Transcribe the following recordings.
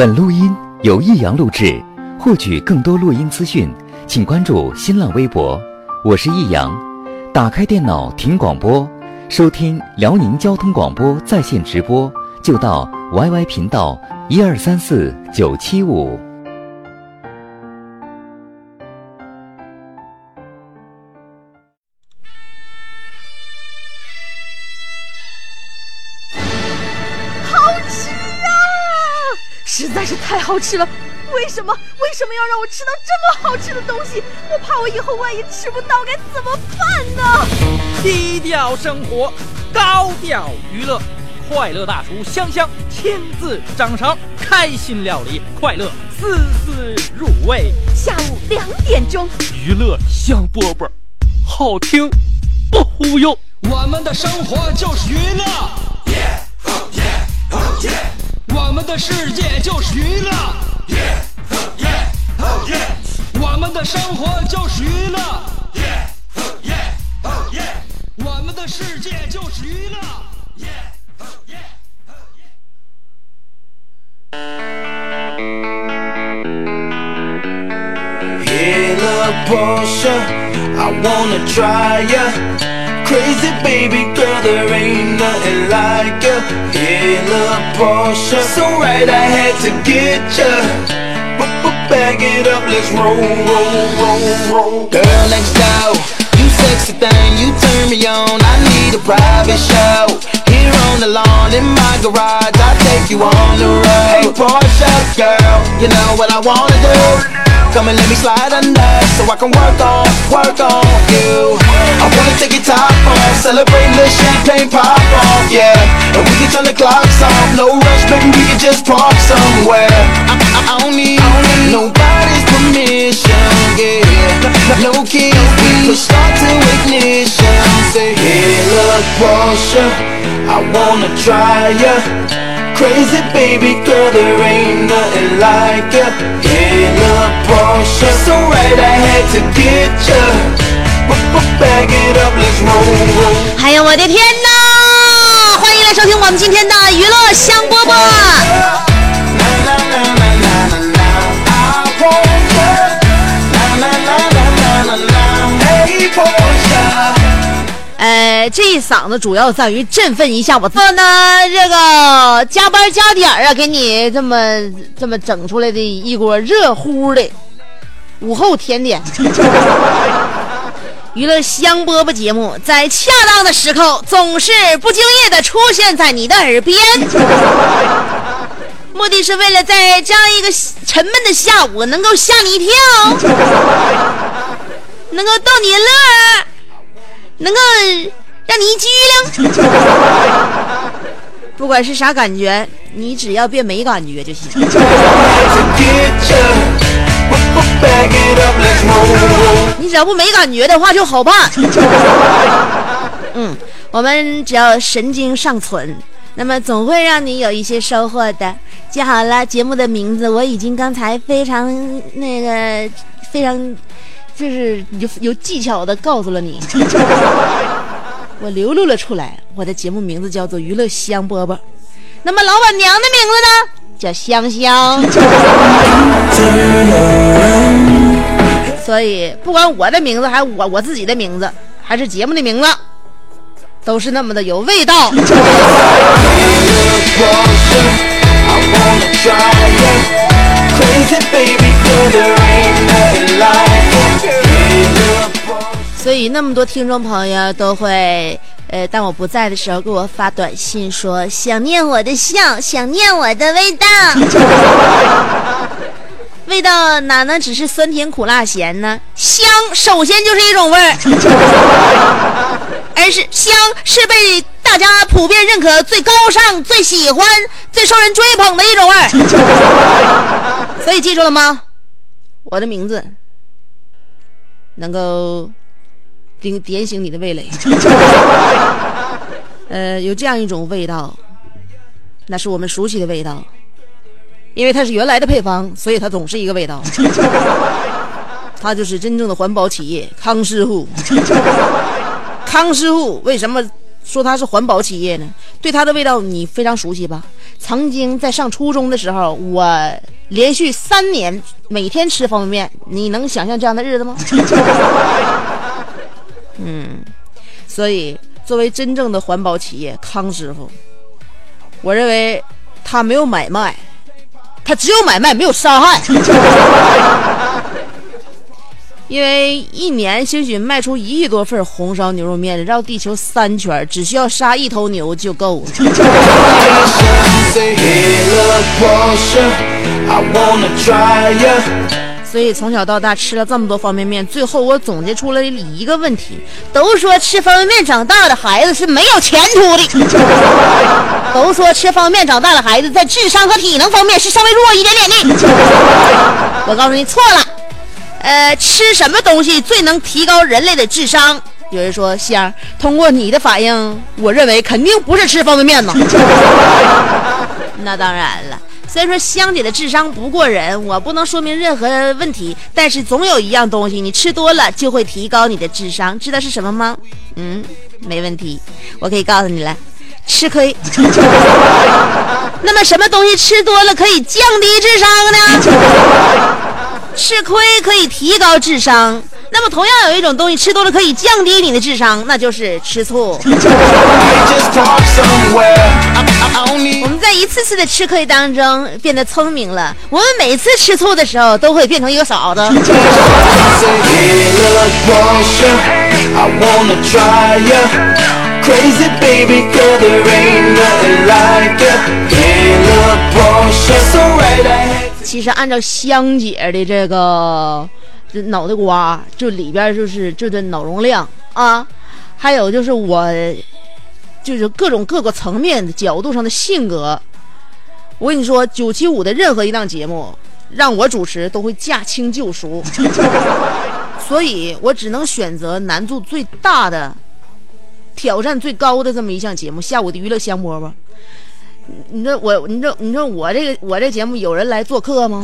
本录音由益阳录制，获取更多录音资讯，请关注新浪微博，我是益阳。打开电脑听广播，收听辽宁交通广播在线直播，就到 YY 频道1234975。 实在是太好吃了，为什么要让我吃到这么好吃的东西？我怕我以后万一吃不到该怎么办呢？ 低调生活，高调娱乐，快乐大厨香香亲自掌勺，开心料理，快乐丝丝入味。 下午2点钟， 娱乐香饽饽，好听不忽悠。 我们的生活就是娱乐，我们的世界就是娱乐，我们的生活就是娱乐，我们的世界就是娱乐。 Hey, little Portia, I wanna try ya. Crazy baby girl, there ain't nothing like ya. Hey, little Portia, so right I had to get ya. Bag it up, let's roll. Girl next door, you sexy thing, you turn me on. I need a private show. Here on the lawn in my garage, I'll take you on the road. Hey Portia, girl, you know what I wanna do. Come and let me slide under, so I can work on you. I wanna take your top off, celebrate the champagne pop off, yeah. And we can turn the clocks off, no rush, baby, we can just park somewhere. I don't need nobody's permission, yeah. No keys, we push start to ignition. Say, hey, look, Portia, I wanna try ya. Crazy baby girl, there ain't nothing like ya. Hey, look, Portia, so right I had to get ya. Bag it up, let's roll. 哎呀，我的天哪！欢迎来收听我们今天的娱乐香饽饽。这一嗓子主要在于振奋一下我。然后呢，这个加班加点啊，给你这么整出来的一锅热乎的午后甜点。娱乐香饽饽节目在恰当的时候总是不经意的出现在你的耳边，目的是为了在这样一个沉闷的下午能够吓你一跳，能够逗你乐，能够让你一激灵。不管是啥感觉，你只要别没感觉就行。你只要不没感觉的话就好办。我们只要神经尚存，那么总会让你有一些收获的。记好了，节目的名字我已经刚才非常就是有技巧的告诉了你。我流露了出来，我的节目名字叫做娱乐香饽饽。那么老板娘的名字呢，叫香香。所以不管我的名字还是我自己的名字还是节目的名字，都是那么的有味道。所以那么多听众朋友都会当我不在的时候给我发短信说想念我的笑，想念我的味道。味道哪能只是酸甜苦辣咸呢？香首先就是一种味儿，而是香是被大家普遍认可最高尚、最喜欢、最受人追捧的一种味儿。所以记住了吗？我的名字能够点醒你的味蕾。有这样一种味道，那是我们熟悉的味道，因为它是原来的配方，所以它总是一个味道。它就是真正的环保企业康师傅。康师傅为什么说它是环保企业呢？对它的味道你非常熟悉吧？曾经在上初中的时候，我连续3年每天吃方便面，你能想象这样的日子吗？所以作为真正的环保企业，康师傅，我认为他没有买卖，他只有买卖，没有杀害。因为一年兴许卖出1亿多份红烧牛肉面，绕地球3圈，只需要杀1头牛就够了。所以从小到大吃了这么多方便面，最后我总结出了一个问题：都说吃方便面长大的孩子是没有前途的，都说吃方便面长大的孩子在智商和体能方面是稍微弱一点点的。我告诉你错了。吃什么东西最能提高人类的智商？有人说香，通过你的反应，我认为肯定不是吃方便面呢。那当然了，虽然说香姐的智商不过人，我不能说明任何问题，但是总有一样东西你吃多了就会提高你的智商，知道是什么吗？没问题，我可以告诉你了，吃亏。那么什么东西吃多了可以降低智商呢？吃亏可以提高智商，那么同样有一种东西吃多了可以降低你的智商，那就是吃醋。我们在一次次的吃亏当中变得聪明了，我们每次吃醋的时候都会变成一个傻子。Crazy baby girl, there ain't nothing like you. So right ahead. 其实按照香姐的这个脑袋瓜，就里边就是这个脑容量啊，还有就是我就是各个层面的角度上的性格，我跟你说，975的任何一档节目让我主持都会驾轻就熟，所以我只能选择难度最大的、挑战最高的这么一项节目——下午的娱乐香饽饽。你说我这节目有人来做客吗？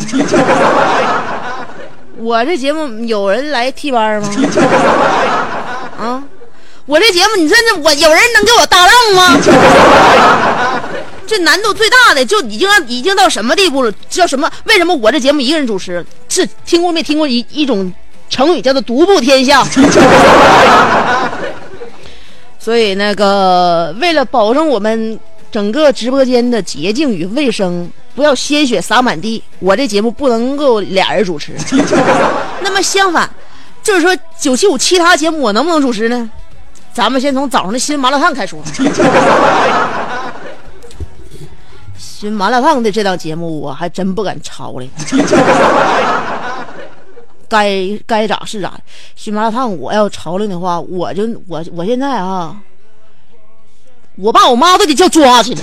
我这节目有人来替班吗？啊，我这节目你说我有人能给我搭档吗？这难度最大的就已经到什么地步了？叫什么？为什么我这节目一个人主持？是听过没听过一种成语叫做独步天下？所以为了保证我们整个直播间的洁净与卫生，不要鲜血洒满地，我这节目不能够俩人主持。那么相反，就是说975其他节目我能不能主持呢？咱们先从早上的新麻辣烫开说。新麻辣烫的这档节目我还真不敢抄了。该咋是咋。新麻辣烫我要抄了的话，我现在啊，我爸我妈都得叫抓去了。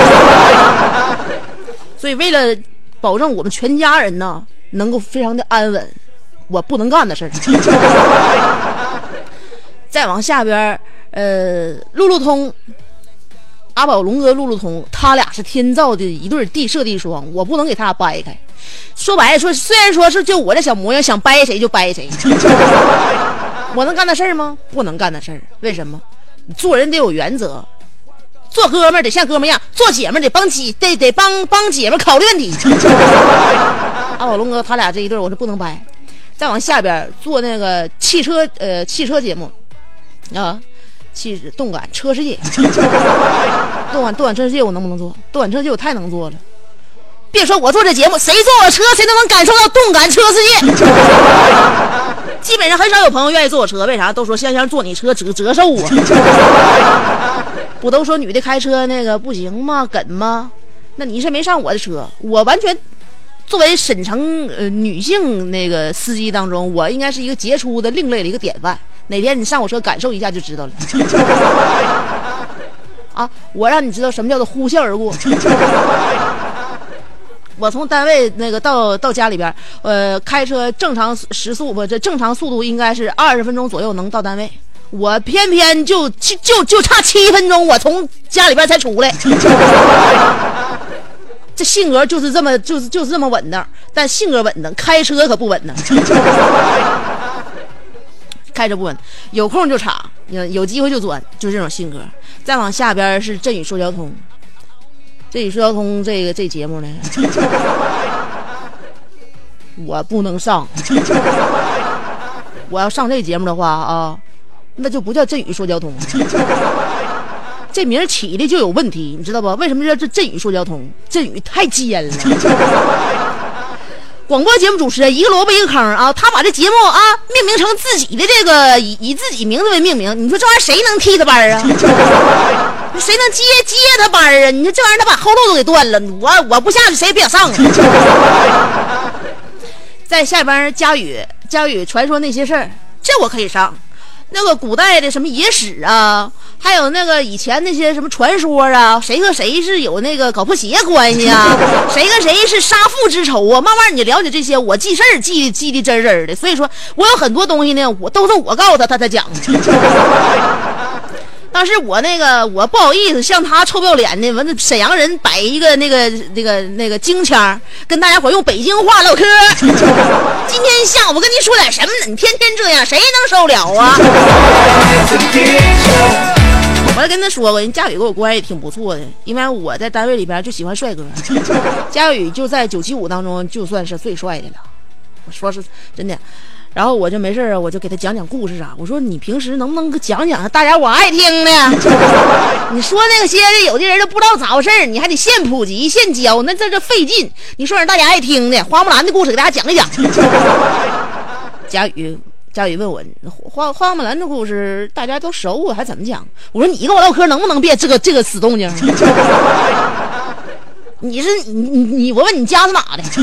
所以为了保证我们全家人呢能够非常的安稳，我不能干的事儿。再往下边，路路通。阿宝龙哥、路路通，他俩是天造的一对地设地双，我不能给他俩掰开。说白了说，虽然说是就我这小模样，想掰谁就掰谁，我能干那事儿吗？不能干那事儿。为什么？你做人得有原则，做哥们儿得像哥们儿一样，做姐们儿得帮姐们儿考虑问题。阿宝龙哥他俩这一对我是不能掰。再往下边做那个汽车节目啊。动感车世界，动感车世界我能不能做？动感车世界我太能做了。别说我做这节目，谁坐我车谁都能感受到动感车世界。基本上很少有朋友愿意坐我车，为啥？都说香香坐你车折寿啊。不都说女的开车不行吗？梗吗？那你是没上我的车，我完全作为沈城女性司机当中，我应该是一个杰出的另类的一个典范。哪天你上我车感受一下就知道了。啊，我让你知道什么叫做呼啸而过。我从单位到家里边，开车正常时速这正常速度应该是20分钟左右能到单位，我偏偏就差7分钟，我从家里边才出来。这性格就是这么稳当，但性格稳当，开车可不稳当。 开车不稳，有空就插，有机会就钻，就是这种性格。再往下边是振宇说交通，振宇说交通这节目呢，我不能上。我要上这节目的话啊，那就不叫振宇说交通，这名起的就有问题，你知道不？为什么叫这振宇说交通？振宇太尖了。广播节目主持人一个萝卜一个坑啊，他把这节目啊命名成自己的这个以自己名字为命名，你说这玩意儿谁能替他班啊？谁能接他班啊？你说这玩意儿他把后路都给断了，我不下去谁也别想上啊。在下边佳宇传说那些事儿，这我可以上。那个古代的什么野史啊，还有那个以前那些什么传说啊，谁和谁是有那个搞破鞋关系啊，谁跟谁是杀父之仇啊，慢慢你了解这些，我记事儿记得真真的。所以说我有很多东西呢，我都是我告诉他才讲。当时我不好意思向他臭不要脸的，完沈阳人摆一个那个京腔，跟大家伙用北京话唠嗑。今天下午跟您说点什么呢？你天天这样，谁能受了啊？我还跟他说过，人佳宇跟我关系挺不错的，因为我在单位里边就喜欢帅哥，佳宇就在975当中就算是最帅的了。我说是真的。然后我就没事啊，我就给他讲讲故事啊。我说你平时能不能讲讲大家我爱听的？你说那些有的人都不知道咋回事，你还得现普及现教，那这费劲。你说让大家爱听的花木兰的故事给大家讲一讲。佳宇问我花木兰的故事大家都熟啊，还怎么讲？我说你跟我唠嗑能不能别这个死动静？你我问你家是哪的？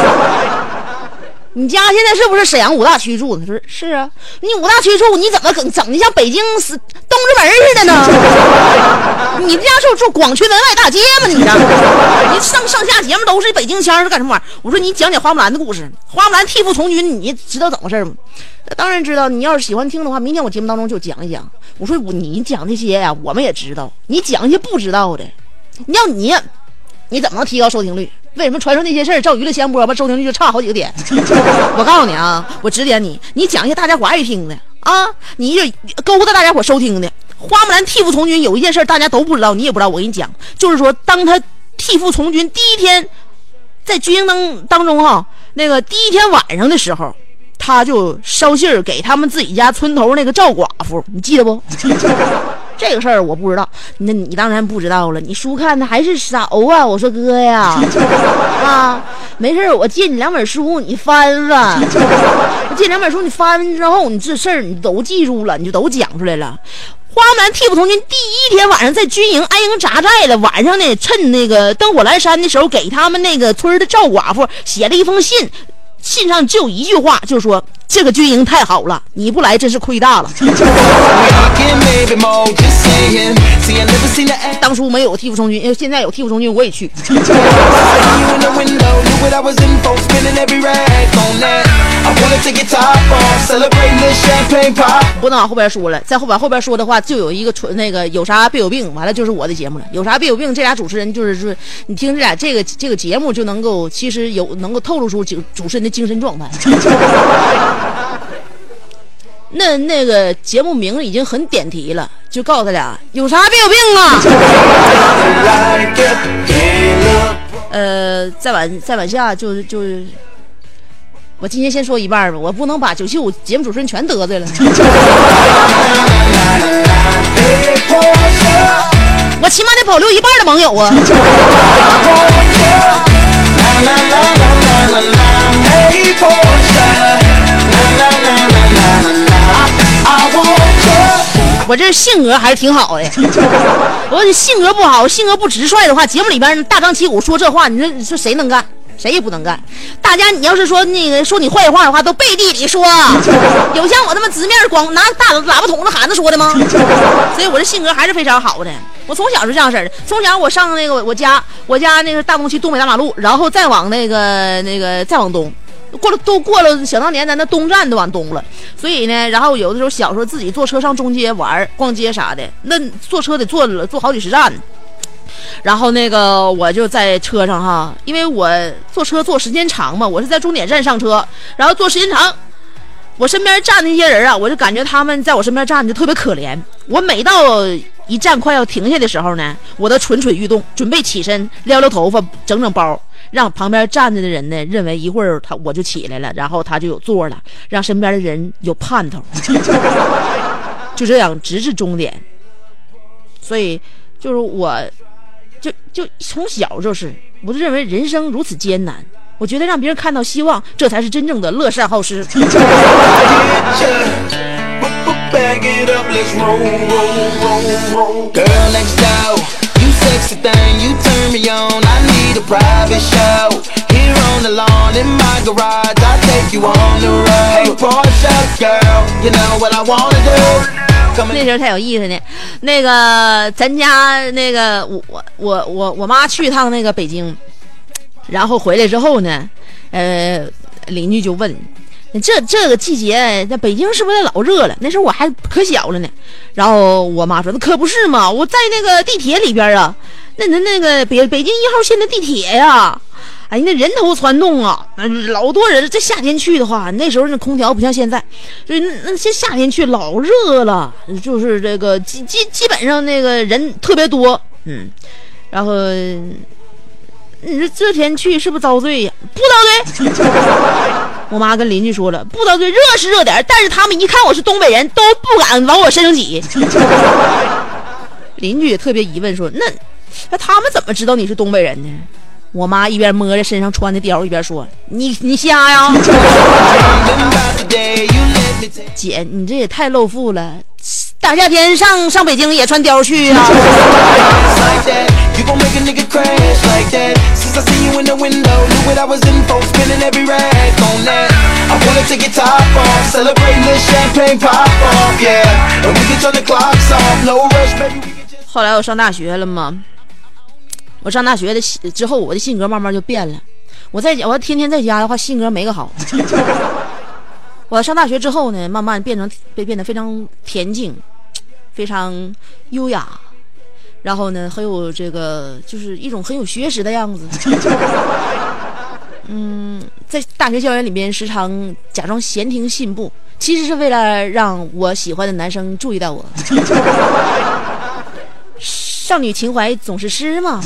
你家现在是不是沈阳5大区住的？他说是啊。你5大区住，你怎么整的像北京东直门似的呢？你们家住广渠门外大街吗？你家你上下节目都是北京腔，是干什么玩意儿？我说你讲讲花木兰的故事，花木兰替父从军，你知道怎么回事吗？当然知道，你要是喜欢听的话，明天我节目当中就讲一讲。我说你讲这些呀，我们也知道，你讲一些不知道的，你怎么能提高收听率？为什么传说那些事儿照娱乐先播吧，收听率就差好几个点？我告诉你啊，我指点你，你讲一些大家伙爱听的啊，你就勾搭大家伙收听的。花木兰替父从军有一件事大家都不知道，你也不知道，我跟你讲，就是说当他替父从军第一天，在军营当中哈，那个第一天晚上的时候，他就捎信儿给他们自己家村头那个赵寡妇，你记得不？这个事儿我不知道，那你当然不知道了。你书看的还是少啊！我说哥呀，啊，没事，我借你2本书，你翻翻。我借2本书，你翻翻之后，你这事儿你都记住了，你就都讲出来了。花木兰替父从军第一天晚上在军营安营扎寨了，晚上呢，趁那个灯火阑珊的时候，给他们那个村的赵寡妇写了一封信。信上就一句话，就是说这个军营太好了，你不来真是亏大了。当初没有替父从军，现在有替父从军我也去。不能往后边说了，再往后边说的话，就有一个那个有啥别有病，完了就是我的节目了。有啥别有病，这俩主持人就是说，你听这俩这个节目就能够，其实能够透露出主持人的精神状态。那个节目名已经很点题了，就告诉他俩有啥别有病啊。再往下就我今天先说一半吧，我不能把975节目主持人全得罪了。我起码得保留一半的盟友啊。我这性格还是挺好的，我这性格不好，性格不直率的话，节目里边大张旗鼓说这话，你说谁能干？谁也不能干。大家你要是说那个说你坏话的话，都背地里说，有像我他妈直面光拿大喇叭筒子喊着说的吗？所以我这性格还是非常好的。我从小是这样式的，从小我上那个我家那个大东区东北大马路，然后再往那个再往东。过了，想当年咱那东站都往东了，所以呢，然后有的时候小时候自己坐车上中街玩逛街啥的，那坐车得坐好几十站，然后那个我就在车上哈，因为我坐车坐时间长嘛，我是在终点站上车，然后坐时间长， 我身边站的那些人啊，我就感觉他们在我身边站着特别可怜。我每到一站快要停下的时候呢，我都蠢蠢欲动，准备起身撩撩头发，整整包，让旁边站着的人呢认为一会儿我就起来了，然后他就有座了，让身边的人有盼头，就这样直至终点。所以就是我就从小我就认为人生如此艰难，我觉得让别人看到希望，这才是真正的乐善好施。 Bag it up, let's roll, roll, roll, roll. Girl next door, you sexy thing, you turn me on. I need a private show. Here on the lawn in my garage, I'll take you on the road. Hey, Porsche girl, you know what I wanna do. 那时候太有意思呢。那个咱家那个我妈去一趟那个北京，然后回来之后呢，邻居就问。这个季节在北京是不是老热了？那时候我还可小了呢。然后我妈说：“那可不是嘛，我在那个地铁里边啊，那个北京1号线的地铁呀，哎，那人头攒动啊，老多人。这夏天去的话，那时候那空调不像现在，所以那些夏天去老热了，就是这个基本上那个人特别多，然后你说这天去是不是遭罪呀？不遭罪。”我妈跟邻居说了，不遭罪，热是热点，但是他们一看我是东北人，都不敢往我身上挤。邻居也特别疑问说，那他们怎么知道你是东北人呢？我妈一边摸着身上穿的貂，一边说，你瞎呀？姐，你这也太露富了，大夏天上北京也穿貂去呀？后来我上大学了嘛，我上大学的之后，我的性格慢慢就变了。我要天天在家的话，性格没个好。我上大学之后呢，慢慢变得非常恬静，非常优雅，然后呢，很有这个就是一种很有学识的样子。在大学校园里面时常假装闲庭信步，其实是为了让我喜欢的男生注意到我。少女情怀总是诗嘛。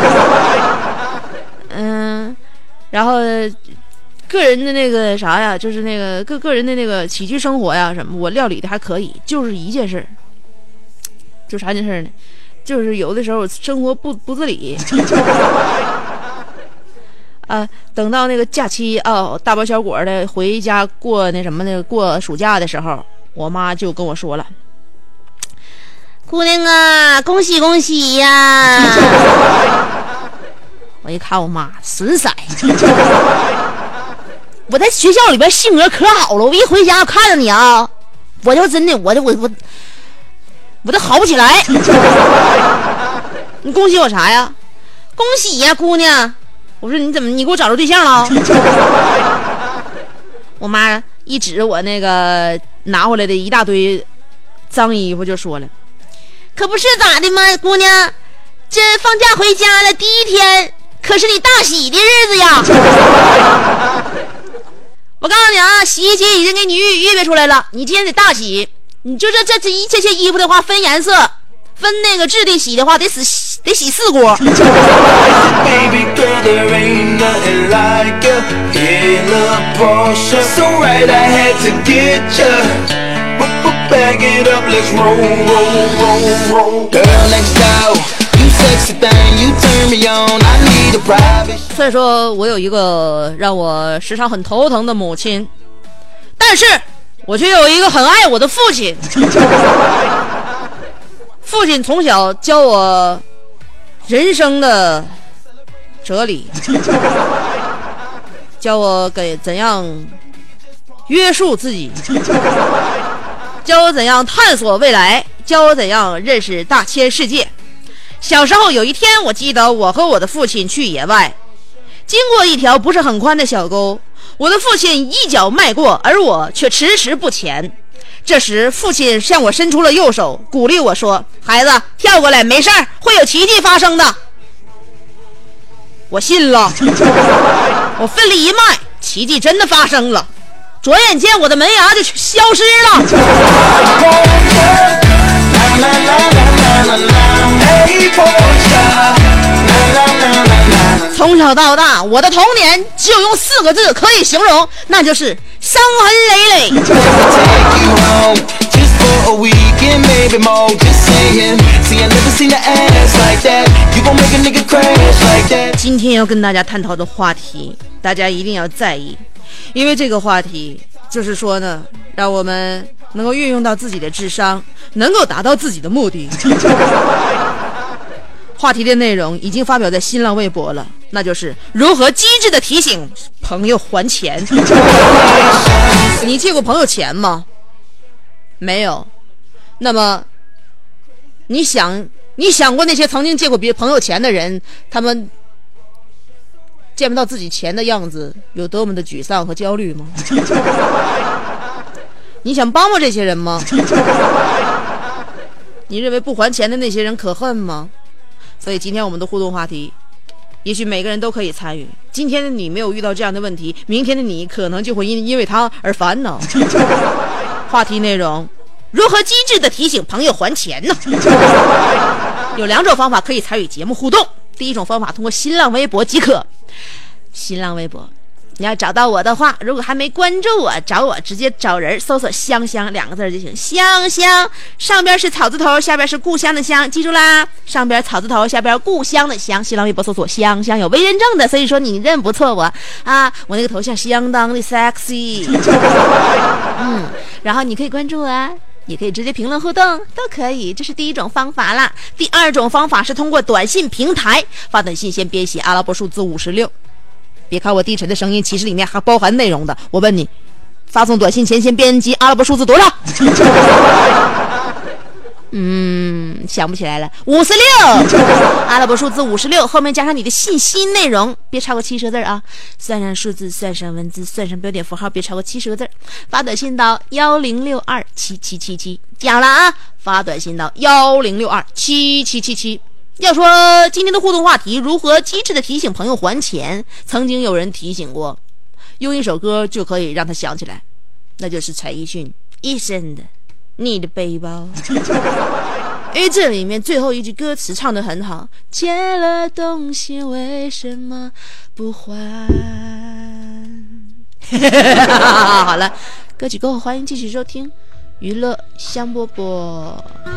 然后个人的那个啥呀，就是那个个人的那个起居生活呀什么，我料理的还可以，就是一件事，就啥件事呢？就是有的时候生活不自理。等到那个假期大包小裹的回家过那什么的过暑假的时候，我妈就跟我说了，姑娘啊，恭喜恭喜呀！我一看我妈损色，我在学校里边性格可好了，我一回家我看着你啊，我就真的我都好不起来。你恭喜我啥呀？恭喜呀，姑娘！我说你给我找着对象了？我妈一指我那个拿回来的一大堆脏衣服就说了，可不是咋的吗，姑娘，这放假回家了第一天可是你大喜的日子呀。我告诉你啊，洗衣机已经给你预备出来了，你今天得大洗。你就这些衣服的话分颜色分那个质地洗的话得洗4锅。 Baby girl, there ain't nothing like you. In a Porsche, so right I had to get you. Bag it up, let's roll, roll, roll, roll. Girl next door, you sexy thing, you turn me on. I need a private. 所以说我有一个让我时常很头疼的母亲，但是我却有一个很爱我的父亲。父亲从小教我人生的哲理，教我怎样约束自己，教我怎样探索未来，教我怎样认识大千世界。小时候有一天，我记得我和我的父亲去野外，经过一条不是很宽的小沟，我的父亲一脚迈过，而我却迟迟不前。这时父亲向我伸出了右手，鼓励我说，孩子，跳过来没事儿，会有奇迹发生的。我信了。我奋力一迈，奇迹真的发生了。 转眼间我的门牙就消失了。从小到大，我的童年只有用4个字可以形容，那就是伤痕累累。今天要跟大家探讨的话题，大家一定要在意，因为这个话题就是说呢，让我们能够运用到自己的智商，能够达到自己的目的。话题的内容已经发表在新浪微博了，那就是如何机智的提醒朋友还钱。你借过朋友钱吗？没有。那么你想过那些曾经借过别朋友钱的人，他们见不到自己钱的样子有多么的沮丧和焦虑吗？你想帮这些人吗？你认为不还钱的那些人可恨吗？所以今天我们的互动话题，也许每个人都可以参与。今天的你没有遇到这样的问题，明天的你可能就会因为他而烦恼。话题内容：如何机智的提醒朋友还钱呢？有2种方法可以参与节目互动。第一种方法通过新浪微博即可。新浪微博你要找到我的话，如果还没关注我，找我直接找人搜索香香2个字就行。香香上边是草字头，下边是故乡的乡，记住啦，上边草字头，下边故乡的乡。新浪微博搜索香香，有微认证的，所以说你认不错我啊，我那个头像相当的 sexy。然后你可以关注啊，也可以直接评论互动，都可以，这是第一种方法啦。第2种方法是通过短信平台发短信，先编写阿拉伯数字56。别看我低沉的声音，其实里面还包含内容的。我问你，发送短信前先编辑阿拉伯数字多少？想不起来了。56，阿拉伯数字56，后面加上你的信息内容，别超过70个字啊。算上数字，算上文字，算上标点符号，别超过70个字。发短信到1062777777，讲了啊！发短信到1062777777。要说今天的互动话题，如何机智的提醒朋友还钱，曾经有人提醒过，用一首歌就可以让他想起来，那就是陈奕迅一生的你的背包。因为这里面最后一句歌词唱得很好，借了东西为什么不还？好了，歌曲过后欢迎继续收听娱乐香饽饽。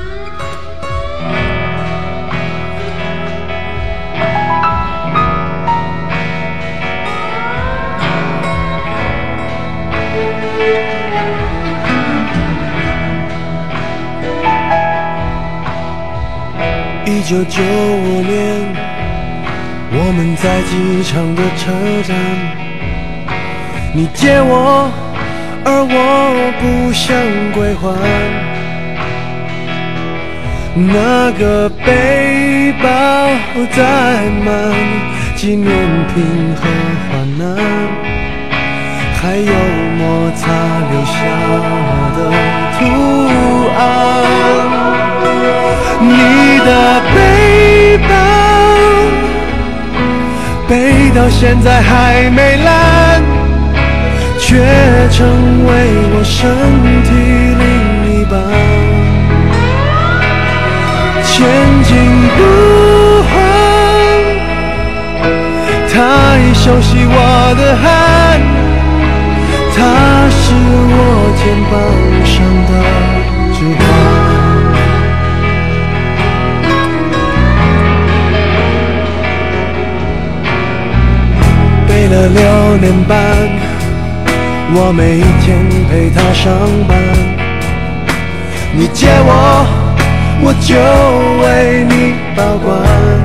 1995年，我们在机场的车站，你借我，而我不想归还。那个背包载满纪念品和花篮，还有摩擦留下的图案。你的背包背到现在还没烂，却成为我身体另一半。千金不换，他已熟悉我的汗，他是我肩膀上的指环。背了6年半，我每一天陪他上班。你借我，我就为你保管。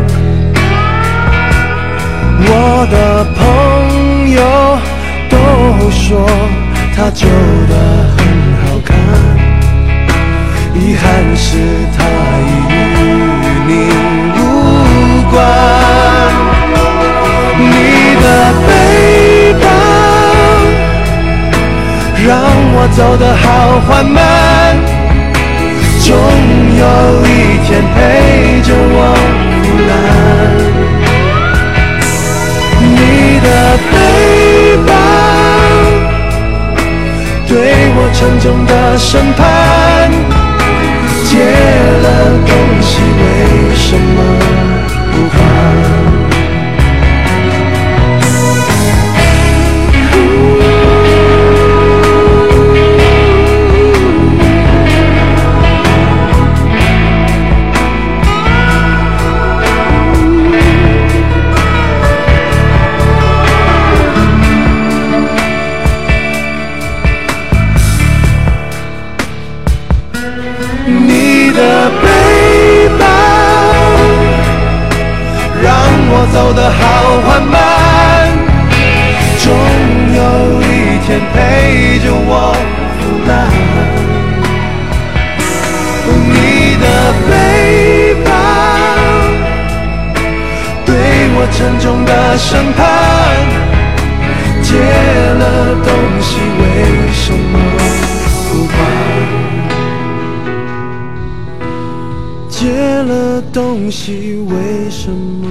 我的朋友都说他旧的很好看，遗憾是他已与你无关。你的背包让我走得好缓慢，总有一天陪着我腐烂。你的背包沉重的审判。借了东西为什么不还？走得好缓慢，终有一天陪着我腐烂。你的背叛对我沉重的审判，借了东西为什么不还？借了东西为什么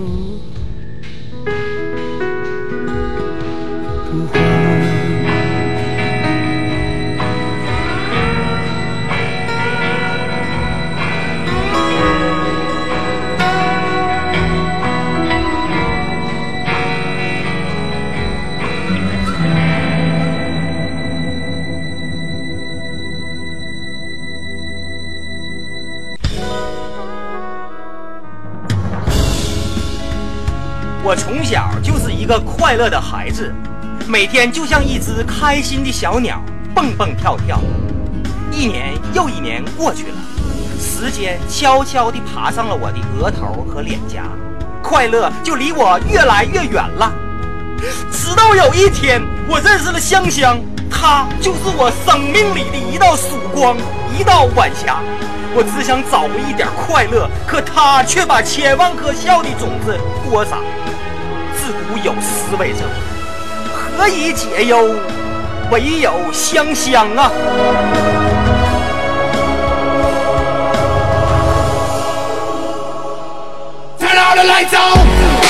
我从小就是一个快乐的孩子，每天就像一只开心的小鸟，蹦蹦跳跳。一年又一年过去了，时间悄悄地爬上了我的额头和脸颊，快乐就离我越来越远了。直到有一天，我认识了香香，她就是我生命里的一道曙光，一道晚霞。我只想找回一点快乐，可她却把千万颗笑的种子播撒。自古有诗为证，何以解忧，唯有香香啊。Turn all the lights on.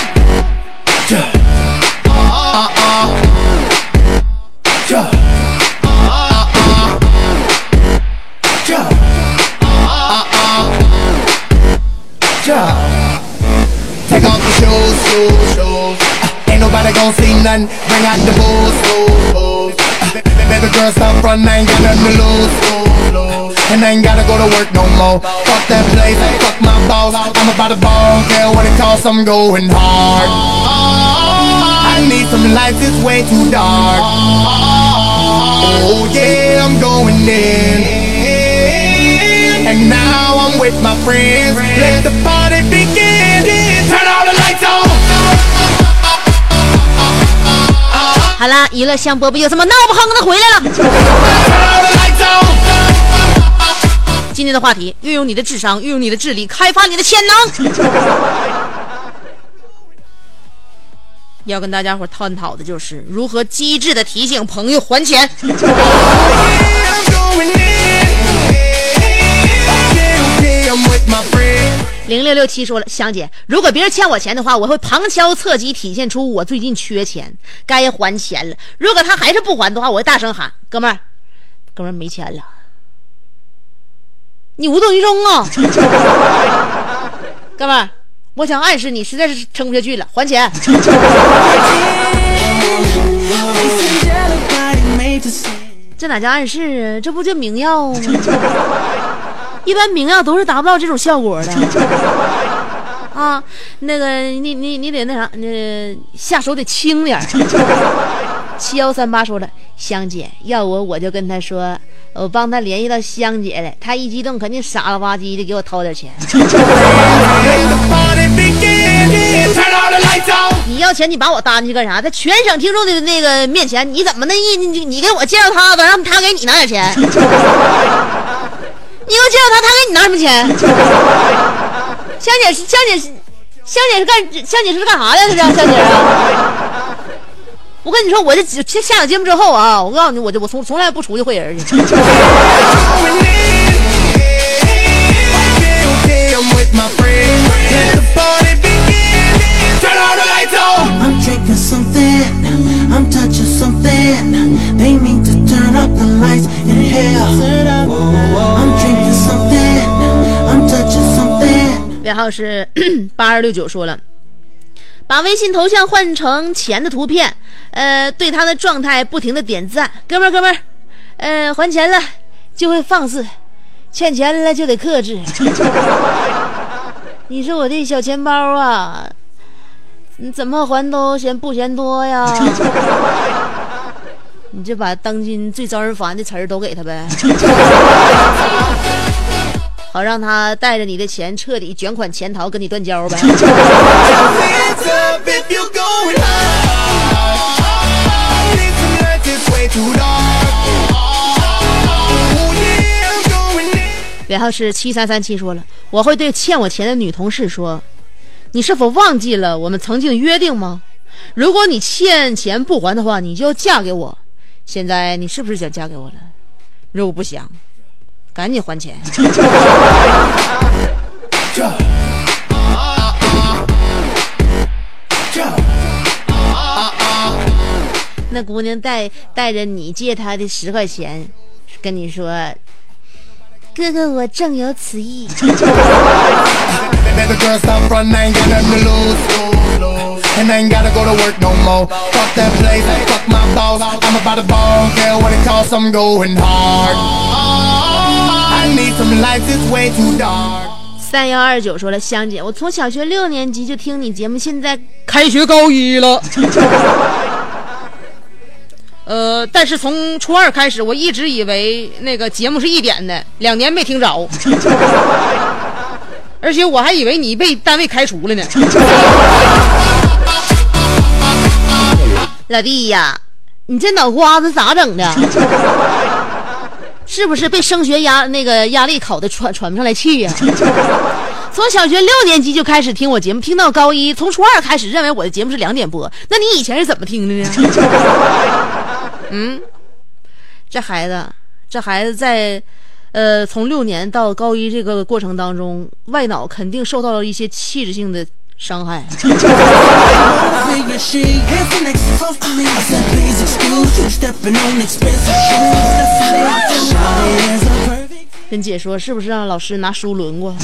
Take off the shoes. Ain't nobody gon' see nothing. Bring out the booze. Baby girl, stop front. I ain't got nothing to lose. And I ain't gotta go to work no more. Fuck that place, fuck my boss. I'm about to ball, care what it costs. I'm going hard. I need some lights, it's way too dark. Oh yeah, I'm going in. And now I'm with my friends. Let the party begin. Turn all the lights on. 好啦，娱乐香饽饽有什么闹不哼的回来了。今天的话题，运用你的智商，运用你的智力，开发你的潜能。要跟大家伙探讨的就是如何机智的提醒朋友还钱。0667说了，香姐，如果别人欠我钱的话，我会旁敲侧击体现出我最近缺钱，该还钱了。如果他还是不还的话，我会大声喊，哥们儿没钱了。你无动于衷啊。哥们儿，我想暗示你实在是撑不下去了，还钱。这哪叫暗示啊？这不就明药吗？一般明药都是达不到这种效果的啊。那个你得那啥，下手得轻点。7138说了，香姐要我就跟他说，我帮他联系到香姐了，他一激动肯定傻了吧唧的给我掏点钱。你要钱你把我搭进去干啥？在全省听众的那个面前，你怎么你给我介绍他，让他给你拿点钱？你又介绍他给你拿什么钱？香姐是干啥的？这香姐啊！我跟你说，我这下了节目之后啊，我告诉你，我从来不出去会人去。 I'm drinking something, I'm touching something. They need to turn up the lights. 然后是8269说了，把微信头像换成钱的图片，对他的状态不停的点赞。哥们儿，还钱了就会放肆，欠钱了就得克制。你说我这小钱包啊，你怎么还都不嫌多呀？你就把当今最招人烦的词儿都给他呗，好让他带着你的钱彻底卷款潜逃，跟你断交呗。然后是7337说了，我会对欠我钱的女同事说，你是否忘记了我们曾经约定吗？如果你欠钱不还的话，你就要嫁给我。现在你是不是想嫁给我了？如果不想，赶紧还钱。那姑娘带着你借她的10块钱，跟你说，哥哥我正有此意。And I ain't gotta go to work no more. Fuck that place, fuck my boss. I'm about to ball, care what it costs, I'm going hard. I need some lights, it's way too dark. 3129说了，香姐，我从小学6年级就听你节目，现在开学高1了。但是从初2开始，我一直以为那个节目是1点的，2年没听着。而且我还以为你被单位开除了呢。老弟呀，你这脑瓜子咋整的？是不是被升学压力考的喘不上来气呀？从小学6年级就开始听我节目，听到高1，从初2开始认为我的节目是2点播，那你以前是怎么听的呢？这孩子在从6年到高1这个过程当中，外脑肯定受到了一些器质性的伤害。跟姐说，是不是让老师拿书轮过？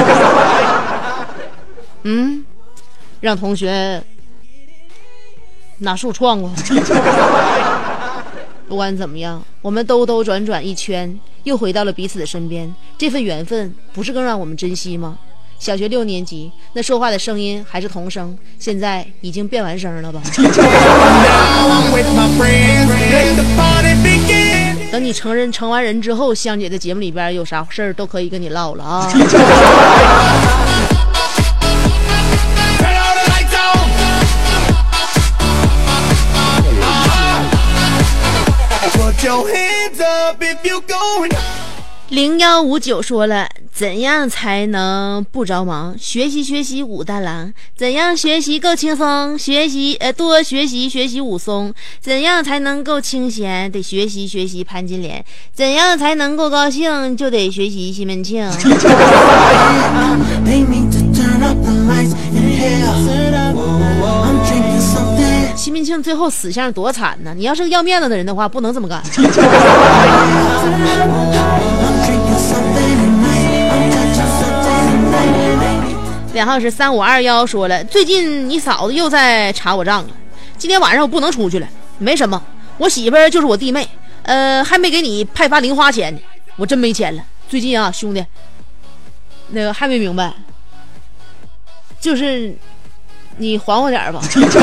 让同学拿树撞过。不管怎么样，我们兜兜转转一圈，又回到了彼此的身边，这份缘分不是更让我们珍惜吗？小学6年级那说话的声音还是童声，现在已经变完声了吧？等你成完人之后，香姐的节目里边有啥事儿都可以跟你唠了啊。0159说了，怎样才能不着忙？学习武大郎，怎样学习够轻松？多学习武松，怎样才能够清闲？得学习潘金莲，怎样才能够高兴？就得学习西门庆。西门庆最后死相多惨呢！你要是个要面子的人的话，不能这么干。然后是3521说了，最近你嫂子又在查我账了，今天晚上我不能出去了。没什么，我媳妇儿就是我弟妹，还没给你派发零花钱呢，我真没钱了。最近啊，兄弟，那个还没明白，就是你还我点吧。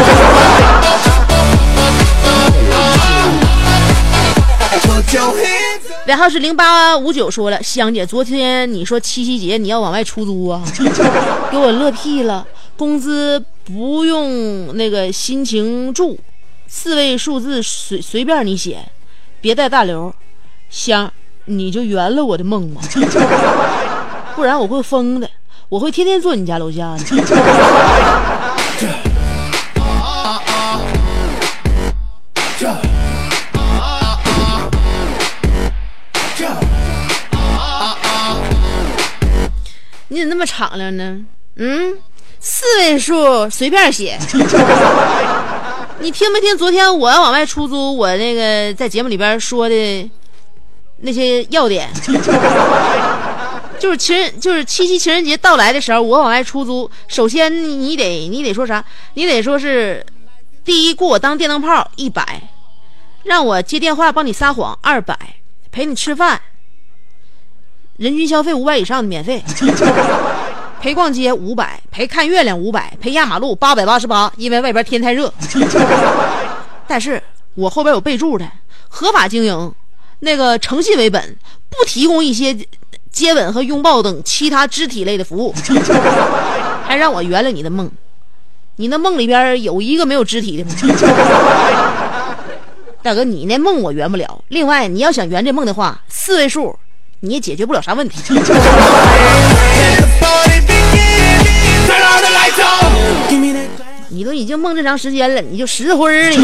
然后是0859说了，香姐，昨天你说七夕节你要往外出租啊，给我乐屁了。工资不用那个心情注，4位数字随便你写，别带大流。香，你就圆了我的梦吧，不然我会疯的，我会天天坐你家楼下的。你怎么那么敞亮呢？4位数随便写。你听没听昨天我要往外出租，我那个在节目里边说的那些要点？ 就是七夕情人节到来的时候，我往外出租，首先你得说啥？你得说是第一，雇我当电灯泡100，让我接电话帮你撒谎200，陪你吃饭，人均消费500以上的免费。陪逛街500，陪看月亮500，陪压马路888，因为外边天太热。但是我后边有备注的，合法经营，那个诚信为本，不提供一些接吻和拥抱等其他肢体类的服务。还让我圆了你的梦，你那梦里边有一个没有肢体的梦。大哥，你那梦我圆不了。另外，你要想圆这梦的话，4位数你也解决不了啥问题。你都已经梦这长时间了，你就实惠了。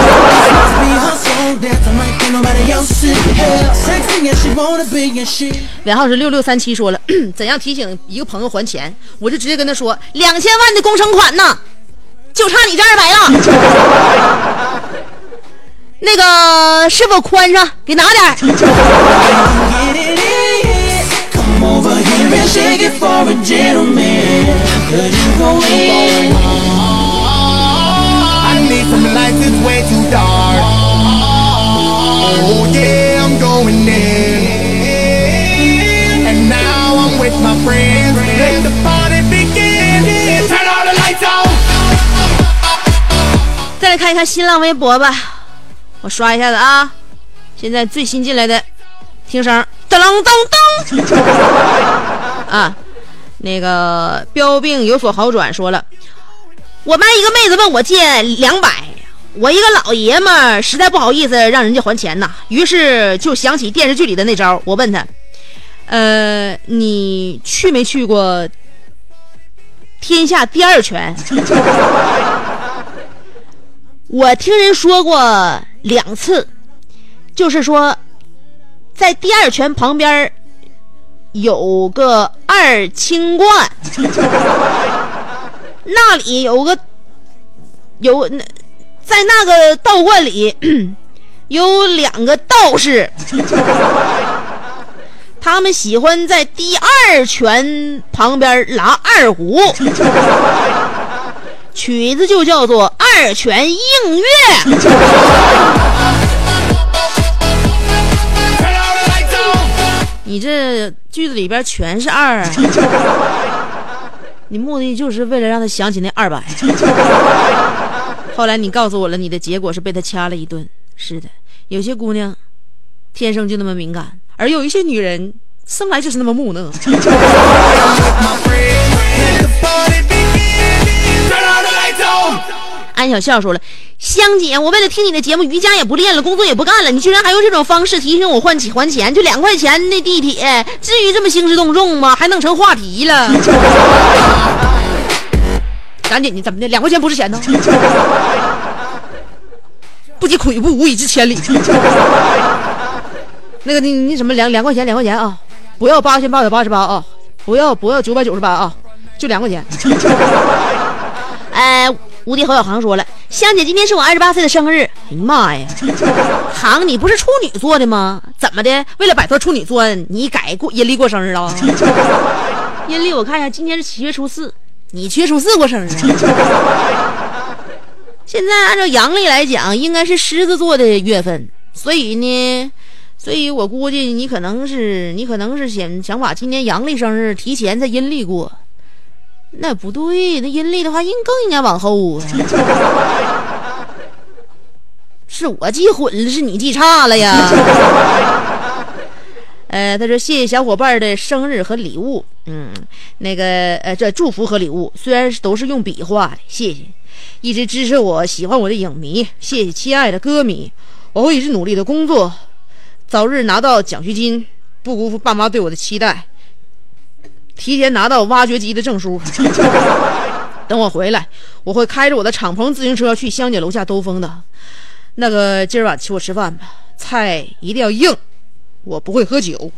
尾号是6637说了，怎样提醒一个朋友还钱？我就直接跟他说，2000万的工程款呢，就差你这200了。那个是否宽上？给拿点。 Need some lights, it's way too dark. Oh yeah, I'm going in. And now I'm with my friends. Let the party begin. Turn all the lights on. 再来看一看新浪微博吧，我刷一下子啊。现在最新进来的听声，噔噔噔啊，那个标病有所好转说了。我班一个妹子问我借200，我一个老爷们儿实在不好意思让人家还钱呐，于是就想起电视剧里的那招，我问他，你去没去过天下第2拳？我听人说过2次，就是说在第2拳旁边有个2清观。那里在那个道观里有2个道士，他们喜欢在第2拳旁边拉2胡，曲子就叫做2拳映月。你这句子里边全是2啊。你目的就是为了让他想起那200。后来你告诉我了，你的结果是被他掐了一顿。是的，有些姑娘天生就那么敏感，而有一些女人生来就是那么木讷。安小笑说了，香姐，我为了听你的节目，瑜伽也不练了，工作也不干了，你居然还用这种方式提醒我还钱，就2块钱的地铁，至于这么兴师动众吗？还弄成话题了。赶紧，你怎么的？2块钱不是钱呢？不积跬步，无以至千里。那个你什么2块钱啊，不要8888啊，不要998啊，就2块钱。无敌侯小航说了，香姐，今天是我28岁的生日。哎呀妈呀，航，你不是处女座的吗？怎么的？为了摆脱处女座，你改阴历过生日了？阴历我看一下，今天是7月初4，你7月初4过生日。现在按照阳历来讲，应该是狮子座的月份，所以我估计你可能是想把今年阳历生日提前在阴历过。那不对，那阴历的话更应该往后啊。是我记混了，是你记差了呀。他说谢谢小伙伴的生日和礼物，这祝福和礼物虽然都是用笔画的，谢谢一直支持我、喜欢我的影迷，谢谢亲爱的歌迷，我会一直努力的工作，早日拿到奖学金，不辜负爸妈对我的期待，提前拿到挖掘机的证书。等我回来，我会开着我的敞篷自行车去香姐楼下兜风的。那个今儿晚请我吃饭吧，菜一定要硬，我不会喝酒。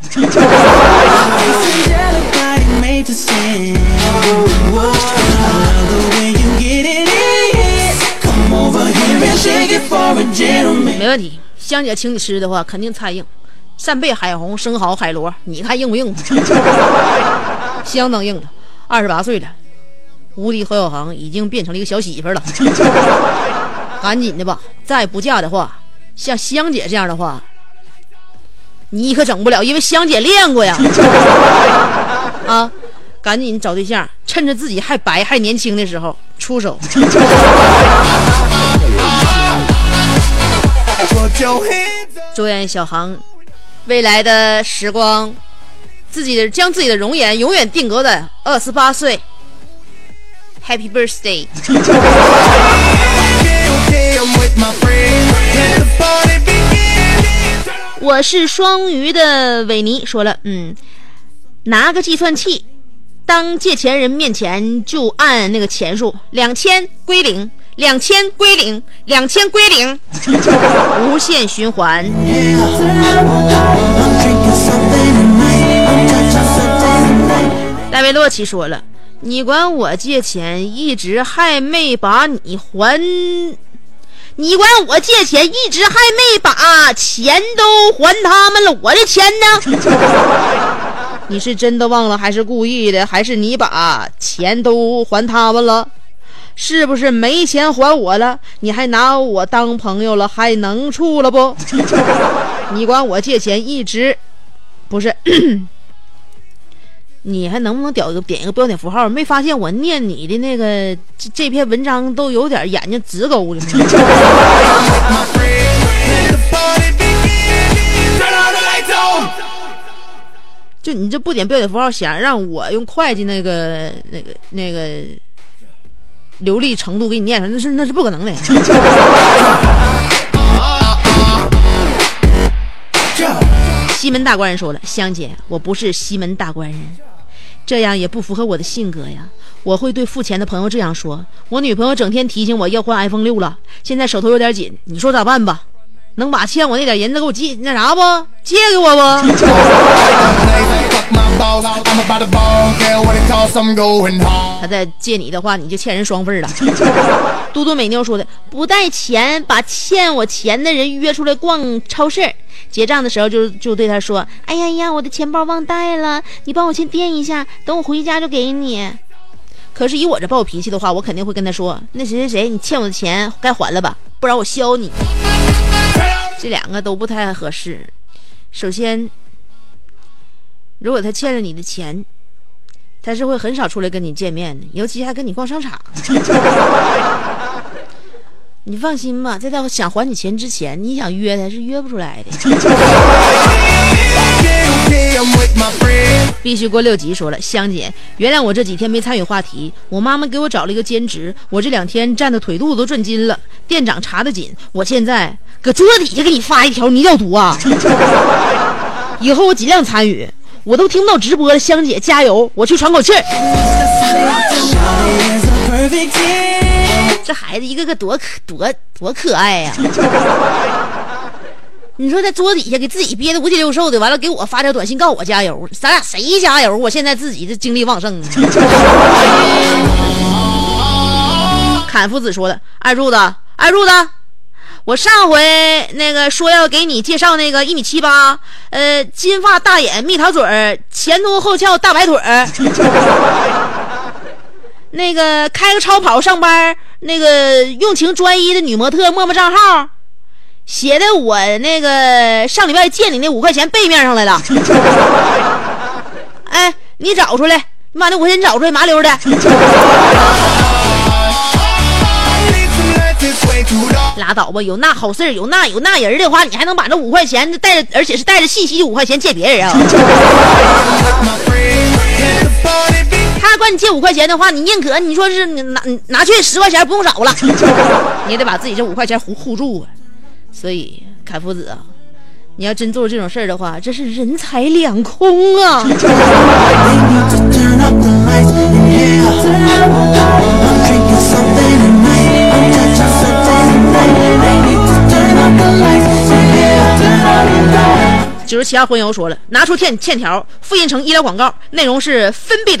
没问题，香姐请你吃的话，肯定菜硬。 扇贝、海虹、生蚝、海螺，你看硬不硬？相当硬了。28岁了，无敌何小航已经变成了一个小媳妇了。赶紧的吧，再不嫁的话，像香姐这样的话，你可整不了，因为香姐练过呀。啊，赶紧找对象，趁着自己还白还年轻的时候出手。祝愿小航未来的时光，将自己的容颜永远定格在28岁。Happy birthday！ 我是双鱼的维尼说了，拿个计算器，当借钱人面前就按那个钱数，2000归零，2000归零，2000归零，无限循环。戴维洛奇说了，你管我借钱，一直还没把你还。你管我借钱，一直还没把钱都还他们了，我的钱呢？你是真的忘了，还是故意的？还是你把钱都还他们了？是不是没钱还我了？你还拿我当朋友了，还能处了不？你管我借钱，一直不是。你还能不能点一个标点符号？没发现我念你的那个这篇文章都有点眼睛直勾的吗？就你这不点标点符号，想让我用会计那个流利程度给你念上，那是不可能的。西门大官人说了，香姐，我不是西门大官人，这样也不符合我的性格呀。我会对付钱的朋友这样说，我女朋友整天提醒我要换 iPhone 6了，现在手头有点紧，你说咋办吧？能把欠我那点银子给我借那啥不？借给我不？他再借你的话，你就欠人双份了。嘟嘟美妞说的，不带钱把欠我钱的人约出来逛超市，结账的时候就对他说，哎呀，我的钱包忘带了，你帮我先垫一下，等我回家就给你。可是以我这暴脾气的话，我肯定会跟他说，那谁，你欠我的钱该还了吧，不然我削你。这两个都不太合适。首先，如果他欠了你的钱，他是会很少出来跟你见面的，尤其还跟你逛商场。你放心吧，在他想还你钱之前，你想约他是约不出来的。必须过6级说了，香姐，原谅我这几天没参与话题，我妈妈给我找了一个兼职，我这2天站的腿肚子都转筋了，店长查得紧，我现在搁桌子底下给你发一条，你要读啊？以后我尽量参与，我都听不到直播了，香姐加油，我去喘口气儿。这孩子一个个多可爱呀！你说在桌底下给自己憋得5体6瘦的，完了给我发条短信告我加油，咱俩谁加油？我现在自己的精力旺盛。侃夫子说的，二柱子，我上回那个说要给你介绍那个1.78米，金发大眼蜜桃嘴，前凸后翘大白腿，那个开个超跑上班，那个用情专一的女模特陌陌账号。写的我那个上礼拜借你那5块钱背面上来了。哎，你找出来，你把那5块钱找出来，麻溜的。拉倒吧，有那好事有那人的话，你还能把这5块钱带着，而且是带着信息5块钱借别人啊？他管你借5块钱的话，你宁可你说是你拿去10块钱不用找了，你也得把自己这5块钱护住啊。所以凯夫子啊，你要真做这种事儿的话，这是人财两空啊。97号婚友说了，拿出欠条复印成医疗广告，内容是分必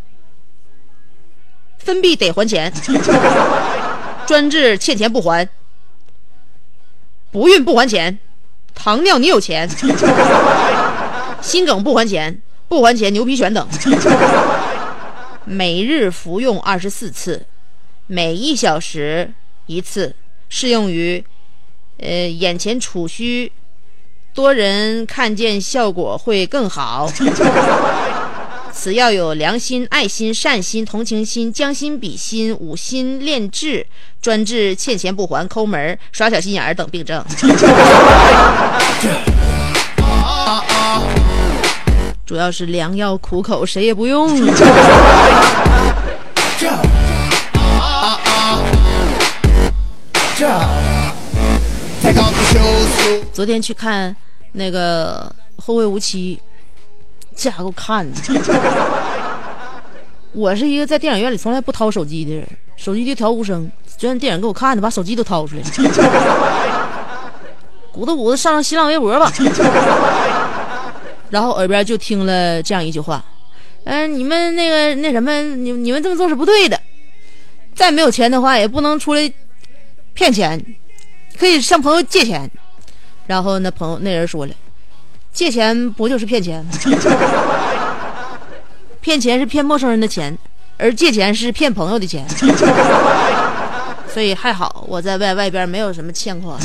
得还钱，专治欠钱不还，不孕不还钱， 糖尿你有钱，心梗不还钱，不还钱牛皮癣等。每日服用24次，每1小时1次，适用于眼前储虚，多人看见效果会更好。此药有良心、爱心、善心、同情心、将心比心、五心炼制，专治欠钱不还、抠门、耍小心眼儿等病症。主要是良药苦口，谁也不用。昨天去看那个《后会无期》，这家给我看的。我是一个在电影院里从来不掏手机的人，手机就调无声。昨天电影给我看的，把手机都掏出来了。鼓捣上新浪微博吧。然后耳边就听了这样一句话：你们那什么，你们这么做是不对的。再没有钱的话，也不能出来骗钱，可以向朋友借钱。然后那人说了，借钱不就是骗钱吗？骗钱是骗陌生人的钱，而借钱是骗朋友的钱。所以还好我在外边没有什么欠款。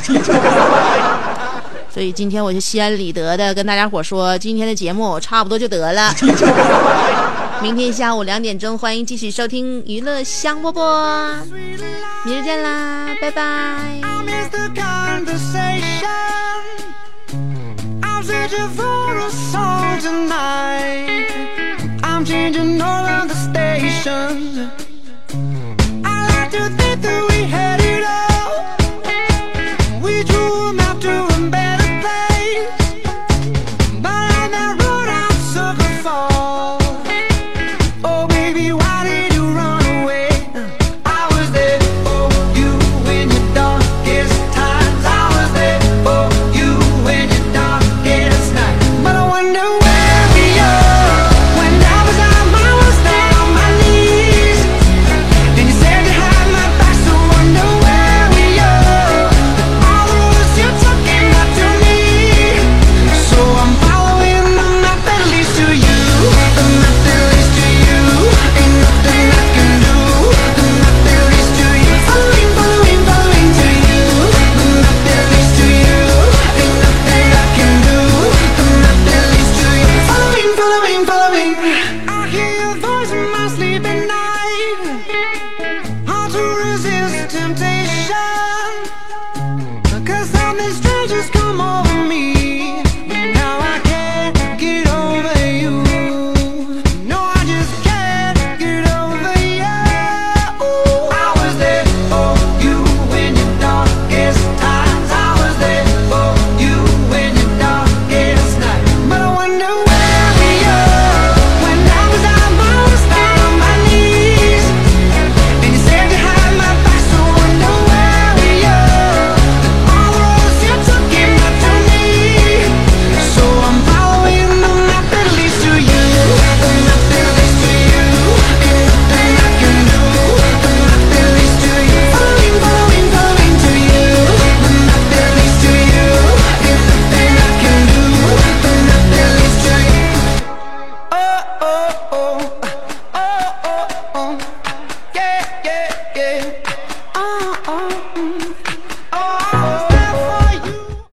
所以今天我就心安理得的跟大家伙说，今天的节目差不多就得了。明天下午2点钟，欢迎继续收听娱乐香饽饽，明日见啦，拜拜。 We